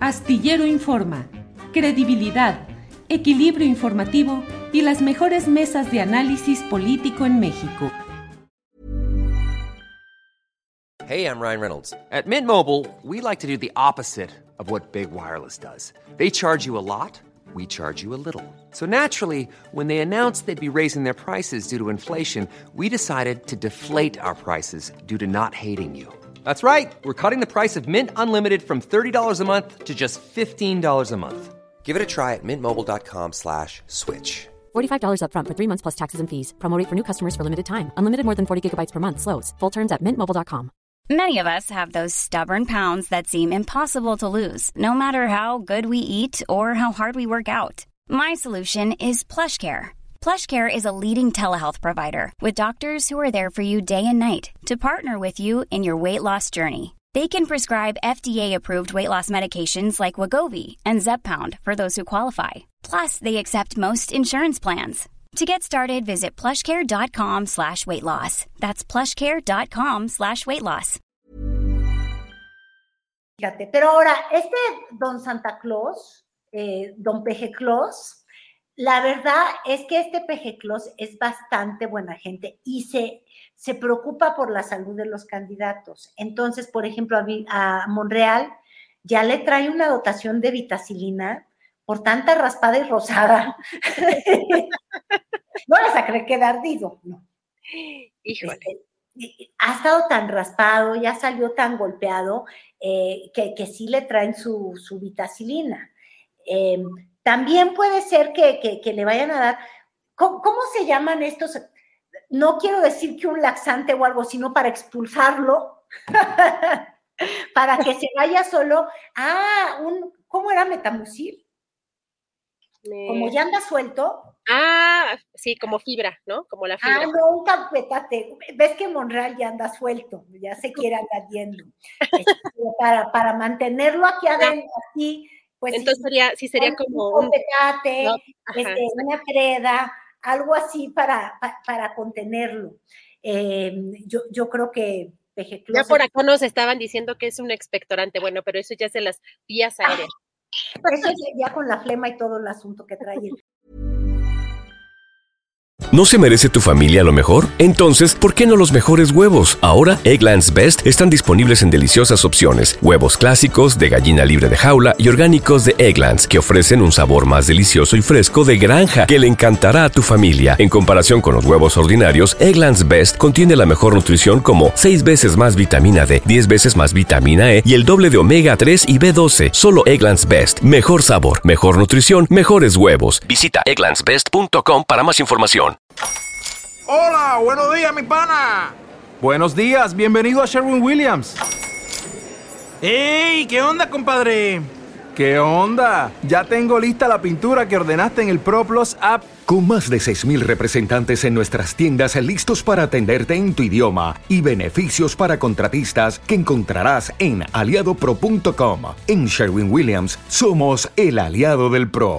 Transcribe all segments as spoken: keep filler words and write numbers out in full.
Astillero Informa, credibilidad, equilibrio informativo y las mejores mesas de análisis político en México. Hey, I'm Ryan Reynolds. At Mint Mobile, we like to do the opposite of what Big Wireless does. They charge you a lot, we charge you a little. So naturally, when they announced they'd be raising their prices due to inflation, we decided to deflate our prices due to not hating you. That's right. We're cutting the price of Mint Unlimited from thirty dollars a month to just fifteen dollars a month. Give it a try at mintmobile.com slash switch. forty-five dollars up front for three months plus taxes and fees. Promo rate for new customers for limited time. Unlimited more than forty gigabytes per month slows. Full terms at mint mobile dot com. Many of us have those stubborn pounds that seem impossible to lose, no matter how good we eat or how hard we work out. My solution is PlushCare. PlushCare is a leading telehealth provider with doctors who are there for you day and night to partner with you in your weight loss journey. They can prescribe F D A-approved weight loss medications like Wegovy and Zepbound for those who qualify. Plus, they accept most insurance plans. To get started, visit plushcare.com slash weight loss. That's plushcare.com slash weight loss. Fíjate, pero ahora, este don Santa Claus, eh, don Peje Claus, la verdad es que este Peje Claus es bastante buena gente y se, se preocupa por la salud de los candidatos. Entonces, por ejemplo, a, a Monreal ya le trae una dotación de vitacilina por tanta raspada y rosada. No les a creer que era ardido, no. Híjole. Este, ha estado tan raspado, ya salió tan golpeado, eh, que, que sí le traen su, su vitacilina. Eh, también puede ser que, que, que le vayan a dar, ¿cómo, ¿cómo se llaman estos? No quiero decir que un laxante o algo, sino para expulsarlo, para que se vaya solo. Ah, un, ¿cómo era Metamucil? Me... Como ya anda suelto. Ah, sí, como fibra, ¿no? Como la fibra. Ah, no, un capetate. Ves que Monreal ya anda suelto, ya se quiere andar yendo. Este, para, para mantenerlo aquí adentro, así, pues. Entonces sí, sería, sí sería un, como un capetate, no, este, una creda, algo así para, para, para contenerlo. Eh, yo, yo creo que Peje Claus. Ya por acá nos estaban diciendo que es un expectorante, bueno, pero eso ya es de las vías aéreas. Eso es ya con la flema y todo el asunto que trae. ¿No se merece tu familia lo mejor? Entonces, ¿por qué no los mejores huevos? Ahora, Eggland's Best están disponibles en deliciosas opciones. Huevos clásicos, de gallina libre de jaula y orgánicos de Eggland's, que ofrecen un sabor más delicioso y fresco de granja que le encantará a tu familia. En comparación con los huevos ordinarios, Eggland's Best contiene la mejor nutrición como seis veces más vitamina D, diez veces más vitamina E y el doble de omega tres y B doce. Solo Eggland's Best. Mejor sabor, mejor nutrición, mejores huevos. Visita egglands best punto com para más información. Hola, buenos días, mi pana. Buenos días, bienvenido a Sherwin-Williams. ¡Ey! ¿Qué onda, compadre? ¿Qué onda? Ya tengo lista la pintura que ordenaste en el ProPlus app. Con más de seis mil representantes en nuestras tiendas listos para atenderte en tu idioma y beneficios para contratistas que encontrarás en aliado pro punto com. En Sherwin-Williams somos el aliado del pro.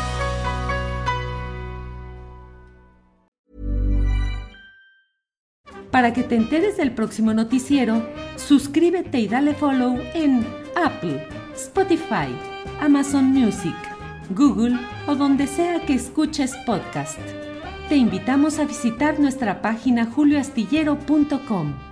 Para que te enteres del próximo noticiero, suscríbete y dale follow en Apple, Spotify, Amazon Music, Google o donde sea que escuches podcast. Te invitamos a visitar nuestra página julio astillero punto com.